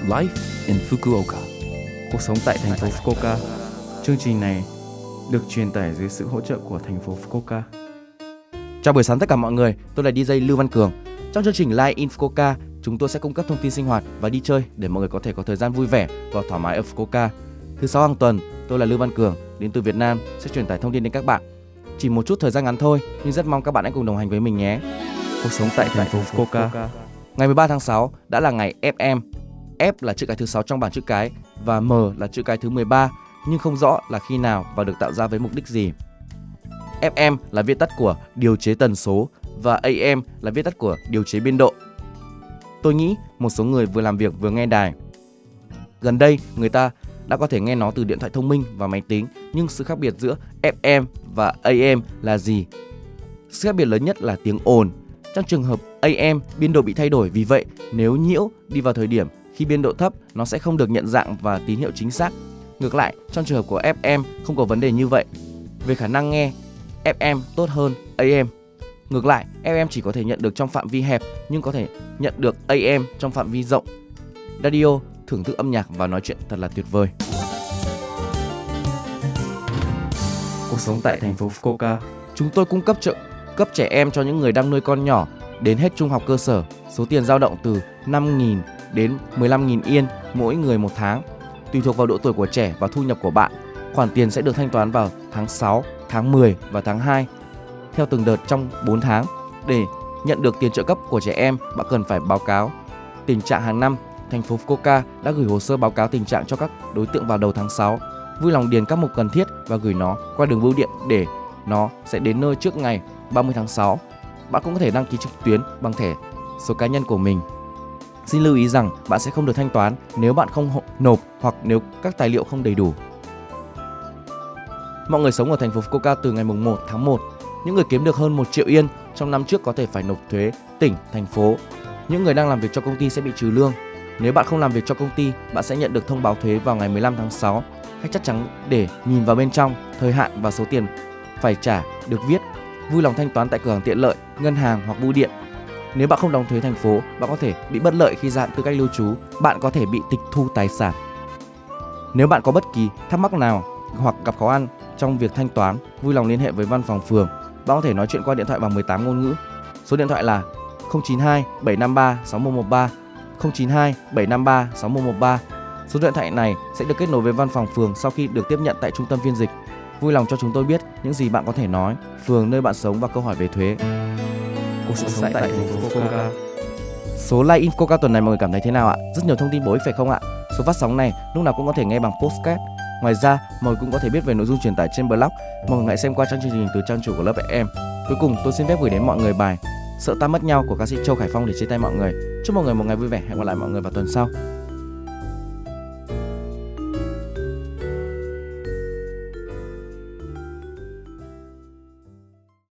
Life in Fukuoka. Cuộc sống tại thành phố Fukuoka. Chương trình này được truyền tải dưới sự hỗ trợ của thành phố Fukuoka. Chào buổi sáng tất cả mọi người, tôi là DJ Lưu Văn Cường. Trong chương trình Live in Fukuoka, chúng tôi sẽ cung cấp thông tin sinh hoạt và đi chơi để mọi người có thể có thời gian vui vẻ và thoải mái ở Fukuoka. Thứ 6 hàng tuần, tôi là Lưu Văn Cường, đến từ Việt Nam, sẽ truyền tải thông tin đến các bạn. Chỉ một chút thời gian ngắn thôi, nhưng rất mong các bạn hãy cùng đồng hành với mình nhé. Cuộc sống tại thành phố Fukuoka. Ngày 13 tháng 6 đã là ngày FM. F là chữ cái thứ 6 trong bảng chữ cái và M là chữ cái thứ 13, nhưng không rõ là khi nào và được tạo ra với mục đích gì. FM là viết tắt của điều chế tần số và AM là viết tắt của điều chế biên độ. Tôi nghĩ một số người vừa làm việc vừa nghe đài. Gần đây, người ta đã có thể nghe nó từ điện thoại thông minh và máy tính, nhưng sự khác biệt giữa FM và AM là gì? Sự khác biệt lớn nhất là tiếng ồn. Trong trường hợp AM, biên độ bị thay đổi, vì vậy nếu nhiễu đi vào thời điểm khi biên độ thấp, nó sẽ không được nhận dạng và tín hiệu chính xác. Ngược lại, trong trường hợp của FM không có vấn đề như vậy. Về khả năng nghe, FM tốt hơn AM. Ngược lại, FM chỉ có thể nhận được trong phạm vi hẹp nhưng có thể nhận được AM trong phạm vi rộng. Radio, thưởng thức âm nhạc và nói chuyện thật là tuyệt vời. Cuộc sống tại thành phố Fukuoka. Chúng tôi cung cấp trợ cấp trẻ em cho những người đang nuôi con nhỏ đến hết trung học cơ sở. Số tiền dao động từ 5.000 đến 15.000 yên mỗi người một tháng, tùy thuộc vào độ tuổi của trẻ và thu nhập của bạn. Khoản tiền sẽ được thanh toán vào tháng 6, tháng 10 và tháng 2 theo từng đợt trong 4 tháng. Để nhận được tiền trợ cấp của trẻ em, bạn cần phải báo cáo tình trạng hàng năm. Thành phố Fukuoka đã gửi hồ sơ báo cáo tình trạng cho các đối tượng vào đầu tháng 6. Vui lòng điền các mục cần thiết và gửi nó qua đường bưu điện để nó sẽ đến nơi trước ngày 30 tháng 6. Bạn cũng có thể đăng ký trực tuyến bằng thẻ số cá nhân của mình. Xin lưu ý rằng bạn sẽ không được thanh toán nếu bạn không nộp hoặc nếu các tài liệu không đầy đủ. Mọi người sống ở thành phố Fukuoka từ ngày 1 tháng 1. Những người kiếm được hơn 1 triệu yên trong năm trước có thể phải nộp thuế tỉnh, thành phố. Những người đang làm việc cho công ty sẽ bị trừ lương. Nếu bạn không làm việc cho công ty, bạn sẽ nhận được thông báo thuế vào ngày 15 tháng 6. Hãy chắc chắn để nhìn vào bên trong, thời hạn và số tiền phải trả được viết. Vui lòng thanh toán tại cửa hàng tiện lợi, ngân hàng hoặc bưu điện. Nếu bạn không đóng thuế thành phố, bạn có thể bị bất lợi khi gia hạn tư cách lưu trú. Bạn có thể bị tịch thu tài sản. Nếu bạn có bất kỳ thắc mắc nào hoặc gặp khó khăn trong việc thanh toán, vui lòng liên hệ với văn phòng phường. Bạn có thể nói chuyện qua điện thoại bằng 18 ngôn ngữ. Số điện thoại là 092 753 6113, 092 753 6113. Số điện thoại này sẽ được kết nối với văn phòng phường sau khi được tiếp nhận tại trung tâm phiên dịch. Vui lòng cho chúng tôi biết những gì bạn có thể nói, phường nơi bạn sống và câu hỏi về thuế. Cuộc sống tại thành phố Fukuoka. Số Live in Fukuoka tuần này mọi người cảm thấy thế nào ạ? Rất nhiều thông tin bổ ích phải không ạ? Số phát sóng này lúc nào cũng có thể nghe bằng podcast. Ngoài ra, mọi người cũng có thể biết về nội dung truyền tải trên blog. Mọi người hãy xem qua trang chương trình từ trang chủ của lớp FM. Cuối cùng, tôi xin phép gửi đến mọi người bài Sợ ta mất nhau của ca sĩ Châu Khải Phong để chia tay mọi người. Chúc mọi người một ngày vui vẻ. Hẹn gặp lại mọi người vào tuần sau.